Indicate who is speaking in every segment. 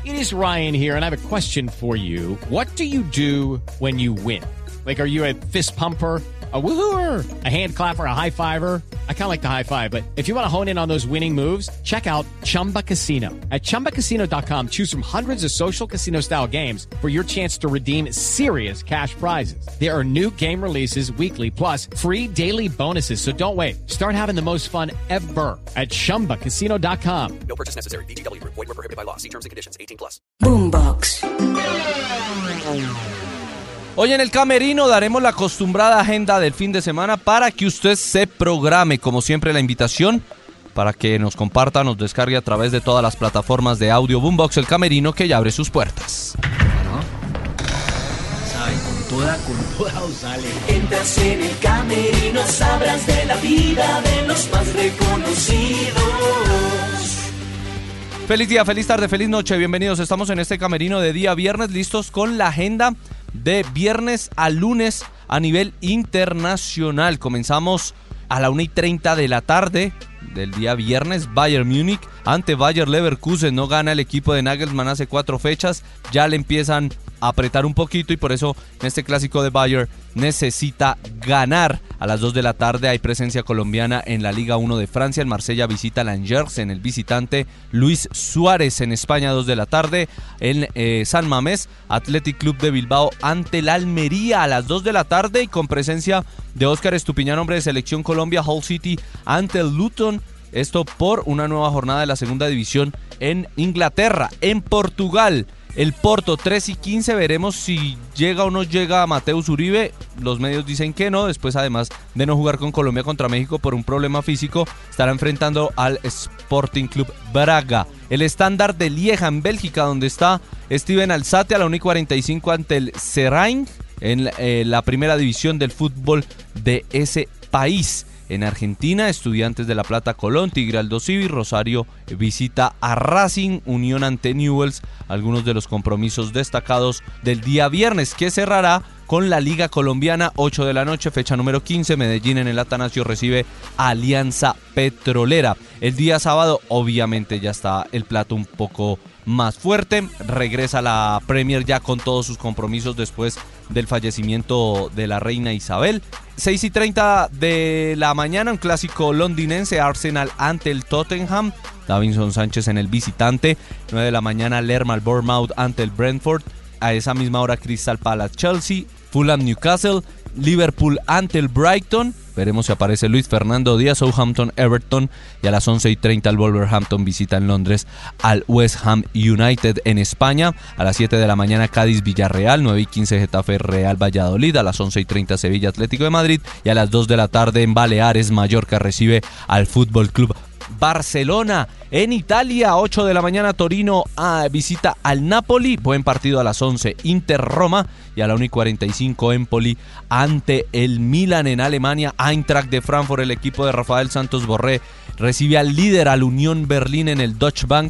Speaker 1: It is Ryan here, and I have a question for you. What do you do when you win? Like, are you a fist pumper, a woohooer, a hand clapper, a high fiver? I kind of like the high five, but if you want to hone in on those winning moves, check out Chumba Casino. At ChumbaCasino.com, choose from hundreds of social casino-style games for your chance to redeem serious cash prizes. There are new game releases weekly, plus free daily bonuses. So don't wait. Start having the most fun ever at ChumbaCasino.com.
Speaker 2: No purchase necessary. VGW Group. Void where prohibited by law. See terms and conditions. 18+.
Speaker 3: Boombox.
Speaker 4: Hoy en el Camerino daremos la acostumbrada agenda del fin de semana para que usted se programe. Como siempre, la invitación para que nos comparta, nos descargue a través de todas las plataformas de audio. Boombox El Camerino, que ya abre sus puertas.
Speaker 5: ¿Sabe? Con toda os sale.
Speaker 3: Entras en el Camerino, sabrás de la vida de los más reconocidos.
Speaker 4: Feliz día, feliz tarde, feliz noche. Bienvenidos. Estamos en este Camerino de día viernes, listos con la agenda de viernes a lunes a nivel internacional. Comenzamos a la 1:30 de la tarde del día viernes. Bayern Múnich ante Bayer Leverkusen. No gana el equipo de Nagelsmann hace 4 fechas. Ya le empiezan a apretar un poquito y por eso en este clásico de Bayern necesita ganar. A las 2 de la tarde hay presencia colombiana en la Liga 1 de Francia. El Marsella visita al Angers en el visitante Luis Suárez. En España, 2 de la tarde en San Mamés, Athletic Club de Bilbao ante el Almería a las 2 de la tarde y con presencia de Óscar Estupiñán, hombre de Selección Colombia. Hull City ante el Luton. Esto por una nueva jornada de la segunda división en Inglaterra. En Portugal, el Porto 3:15, veremos si llega o no llega Mateus Uribe. Los medios dicen que no, después además de no jugar con Colombia contra México por un problema físico, estará enfrentando al Sporting Club Braga. El Standard de Lieja en Bélgica, donde está Steven Alzate a la 1:45 ante el Seraing en la primera división del fútbol de ese país. En Argentina, Estudiantes de La Plata, Colón, Tigre Aldo Civi, Rosario visita a Racing, Unión ante Newell's, algunos de los compromisos destacados del día viernes, que cerrará con la Liga Colombiana, 8 de la noche, fecha número 15, Medellín en el Atanasio recibe a Alianza Petrolera. El día sábado, obviamente, ya está el plato un poco más fuerte, regresa la Premier ya con todos sus compromisos después del fallecimiento de la reina Isabel. 6:30 de la mañana, un clásico londinense, Arsenal ante el Tottenham, Davinson Sánchez en el visitante. 9 de la mañana, Lerma Bournemouth ante el Brentford. A esa misma hora, Crystal Palace Chelsea, Fulham Newcastle, Liverpool ante el Brighton. Veremos si aparece Luis Fernando Díaz, Southampton Everton, y a las 11:30 el Wolverhampton visita en Londres al West Ham United. En España, a las 7 de la mañana Cádiz Villarreal, 9:15 Getafe Real Valladolid, a las 11:30 Sevilla Atlético de Madrid, y a las 2 de la tarde en Baleares Mallorca recibe al Fútbol Club Barcelona. En Italia, 8 de la mañana Torino visita al Napoli, buen partido a las 11, Inter Roma, y a la 1:45 Empoli ante el Milan. En Alemania, Eintracht de Frankfurt, el equipo de Rafael Santos Borré, recibe al líder, al Unión Berlín en el Deutsche Bank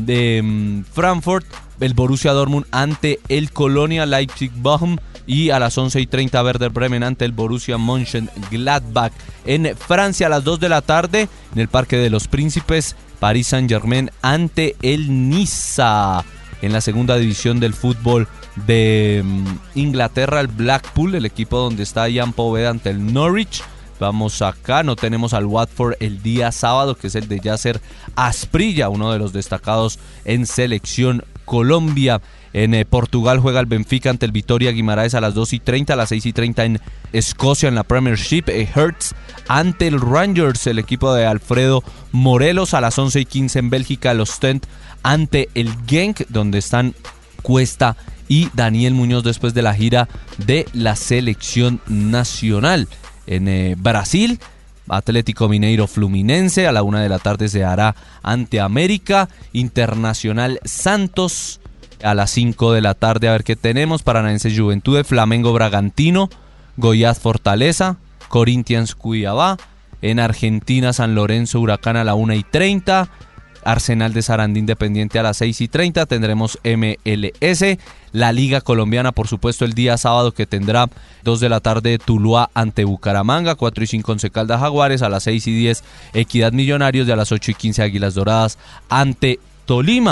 Speaker 4: de Frankfurt. El Borussia Dortmund ante el Colonia Leipzig-Bochum, y a las 11:30 Werder Bremen ante el Borussia Mönchengladbach. En Francia, a las 2 de la tarde en el Parque de los Príncipes, Paris Saint-Germain ante el Niza. En la segunda división del fútbol de Inglaterra, el Blackpool, el equipo donde está Ian Poveda, ante el Norwich. Vamos acá, no tenemos al Watford el día sábado, que es el de Yasser Asprilla, uno de los destacados en Selección Colombia. En Portugal juega el Benfica ante el Vitória Guimaraes a las 2:30, a las 6:30 en Escocia en la Premiership, Hearts ante el Rangers, el equipo de Alfredo Morelos. A las 11:15 en Bélgica, el Ostend ante el Genk, donde están Cuesta y Daniel Muñoz después de la gira de la selección nacional. En Brasil, Atlético Mineiro Fluminense, a la 1 de la tarde se hará ante América. Internacional Santos, a las 5 de la tarde, a ver qué tenemos. Paranaense Juventude, Flamengo Bragantino, Goiás Fortaleza, Corinthians Cuiabá. En Argentina, San Lorenzo Huracán a la 1:30. Arsenal de Sarandí Independiente a las 6:30. Tendremos MLS. La Liga Colombiana, por supuesto, el día sábado, que tendrá 2 de la tarde Tuluá ante Bucaramanga, 4:05 Once Caldas Jaguares, a las 6:10 Equidad Millonarios, y a las 8:15 Águilas Doradas ante Tolima.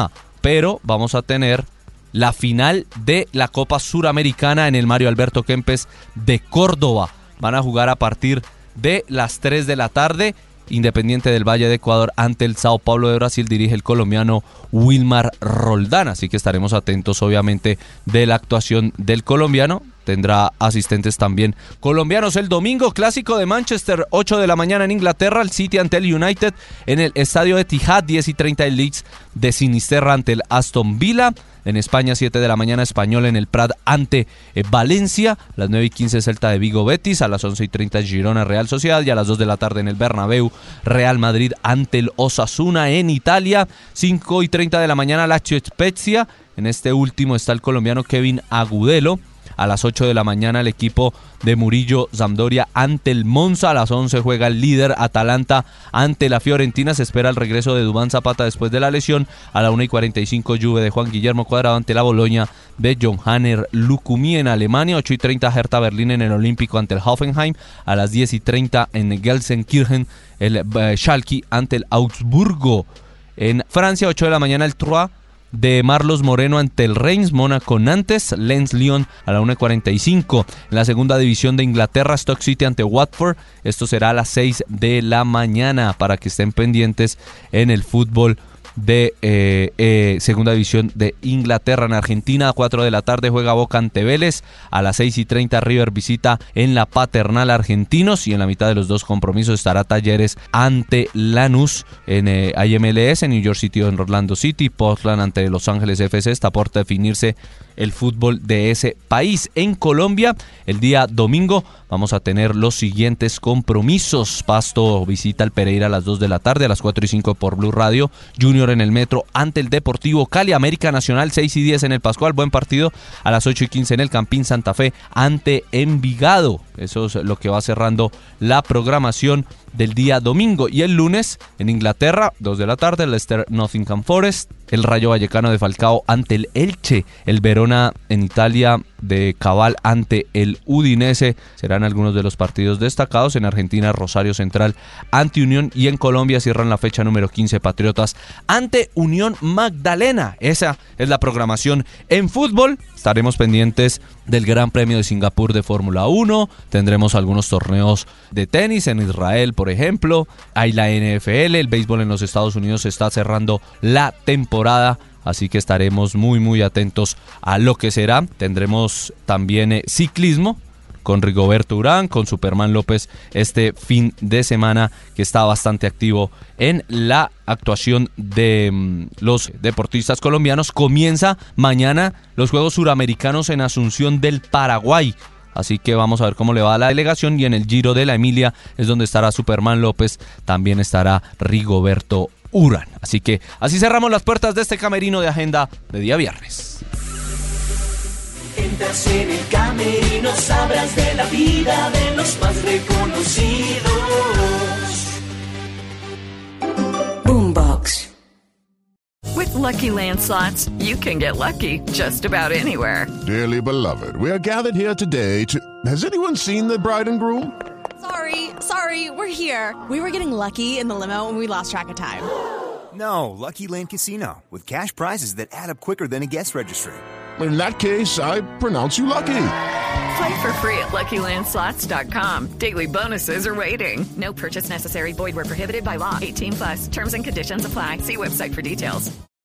Speaker 4: pero vamos a tener la final de la Copa Suramericana en el Mario Alberto Kempes de Córdoba. Van a jugar a partir de las 3 de la tarde. Independiente del Valle de Ecuador ante el Sao Paulo de Brasil dirige el colombiano Wilmar Roldán, así que estaremos atentos obviamente de la actuación del colombiano. Tendrá asistentes también colombianos. El domingo, clásico de Manchester, 8 de la mañana en Inglaterra, el City ante el United en el estadio Etihad, 10:30 el Leeds de Sinisterra ante el Aston Villa. En España, 7 de la mañana, Español en el Prat ante Valencia. A las 9:15 Celta de Vigo Betis. A las 11:30 Girona Real Sociedad. Y a las 2 de la tarde en el Bernabéu, Real Madrid ante el Osasuna en Italia. 5:30 de la mañana, Lazio Spezia. En este último está el colombiano Kevin Agudelo. A las 8 de la mañana el equipo de Murillo Sampdoria ante el Monza. A las 11 juega el líder Atalanta ante la Fiorentina. Se espera el regreso de Duván Zapata después de la lesión. A la 1:45 Juve de Juan Guillermo Cuadrado ante la Boloña de Johanner Lukumi en Alemania. 8:30 Hertha Berlín en el Olímpico ante el Hoffenheim. A las 10:30 en Gelsenkirchen el Schalke ante el Augsburgo. En Francia, 8 de la mañana el Troyes de Marlos Moreno ante el Reims, Mónaco Nantes, Lens Lyon a la 1:45. En la segunda división de Inglaterra, Stoke City ante Watford. Esto será a las 6 de la mañana para que estén pendientes en el fútbol de segunda división de Inglaterra. En Argentina, a 4 de la tarde juega Boca ante Vélez. A las 6:30 River visita en la Paternal Argentinos. Y en la mitad de los dos compromisos estará Talleres ante Lanús. En MLS, en New York City o en Orlando City. Portland ante Los Ángeles FC. Está por definirse el fútbol de ese país. En Colombia, el día domingo vamos a tener los siguientes compromisos. Pasto visita al Pereira a las 2 de la tarde, a las 4:05 por Blue Radio. Junior en el Metro ante el Deportivo Cali. América Nacional, 6:10 en el Pascual, buen partido. A las 8:15 en el Campín Santa Fe ante Envigado. Eso es lo que va cerrando la programación del día domingo. Y el lunes en Inglaterra, 2 de la tarde, Leicester Nottingham Forest. El Rayo Vallecano de Falcao ante el Elche. El Verona en Italia de Cabal ante el Udinese. Serán algunos de los partidos destacados. En Argentina, Rosario Central ante Unión. Y en Colombia cierran la fecha número 15, Patriotas ante Unión Magdalena. Esa es la programación en fútbol. Estaremos pendientes del Gran Premio de Singapur de Fórmula 1. Tendremos algunos torneos de tenis en Israel, por ejemplo. Hay la NFL, el béisbol en los Estados Unidos está cerrando la temporada. Así que estaremos muy atentos a lo que será. Tendremos también ciclismo con Rigoberto Urán, con Superman López este fin de semana, que está bastante activo en la actuación de los deportistas colombianos. Comienza mañana los Juegos Suramericanos en Asunción del Paraguay. Así que vamos a ver cómo le va a la delegación. Y en el Giro de la Emilia es donde estará Superman López, también estará Rigoberto Urán. Así que así cerramos las puertas de este camerino de agenda de día viernes.
Speaker 3: Entras en el camerino, sabrás de la vida de los más reconocidos.
Speaker 6: Boombox.
Speaker 7: With Lucky Land Slots, you can get lucky just about anywhere.
Speaker 8: Dearly beloved, we are gathered here today to... Has anyone seen the bride and groom?
Speaker 9: Sorry, we're here. We were getting lucky in the limo and we lost track of time.
Speaker 10: No, Lucky Land Casino, with cash prizes that add up quicker than a guest registry.
Speaker 8: In that case, I pronounce you lucky.
Speaker 7: Play for free at LuckyLandSlots.com. Daily bonuses are waiting. No purchase necessary. Void where prohibited by law. 18+. Terms and conditions apply. See website for details.